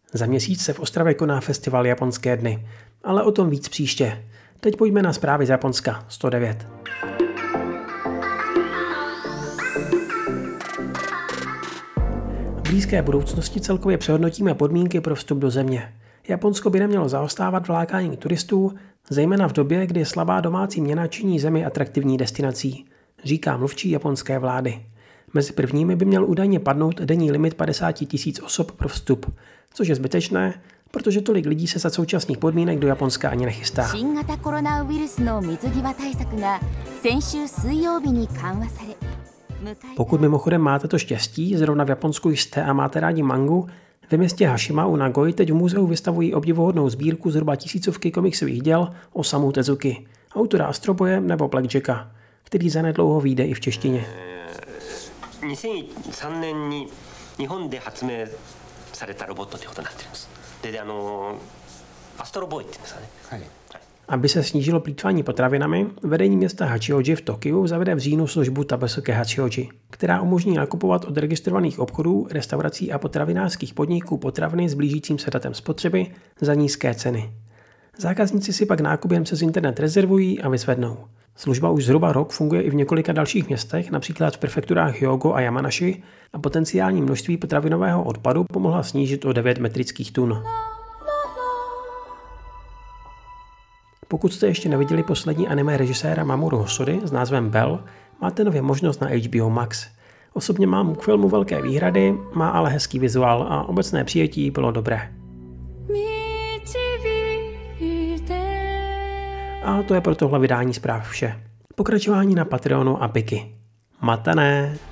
Za měsíc se v Ostravě koná festival Japonské dny, ale o tom víc příště. Teď pojďme na zprávy z Japonska 109. V blízké budoucnosti celkově přehodnotíme podmínky pro vstup do země. Japonsko by nemělo zaostávat v lákání turistů, zejména v době, kdy slabá domácí měna činí zemi atraktivní destinací, říká mluvčí japonské vlády. Mezi prvními by měl údajně padnout denní limit 50 000 osob pro vstup, což je zbytečné, protože tolik lidí se za současných podmínek do Japonska ani nechystá. Pokud mimochodem máte to štěstí, zrovna v Japonsku jste a máte rádi mangu, ve městě Hashima u Nagoji teď v muzeu vystavují obdivuhodnou sbírku zhruba 1000 komiksových děl Osamu Tezuki, autora Astroboje nebo Blackjacka, který zanedlouho vyjde i v češtině. 2003年に日本で発明されたロボットということになっています。で、アストロボーイって言うんですかね。はい。 Aby se snížilo plýtvání potravinami, vedení města Hachioji v Tokiu zavede v říjnu službu Tabesuke Hachioji, která umožní nakupovat od registrovaných obchodů, restaurací a potravinářských podniků potraviny s blížícím se datem spotřeby za nízké ceny. Zákazníci si pak nákup jen přes internet rezervují a vyzvednou. Služba už zhruba rok funguje i v několika dalších městech, například v prefekturách Hyogo a Yamanashi, a potenciální množství potravinového odpadu pomohla snížit o 9 metrických tun. Pokud jste ještě neviděli poslední anime režiséra Mamoru Hosory s názvem Bell, máte nově možnost na HBO Max. Osobně mám k filmu velké výhrady, má ale hezký vizuál a obecné přijetí bylo dobré. A to je pro tohle vydání zpráv vše. Pokračování na Patreonu a Biky. Matané!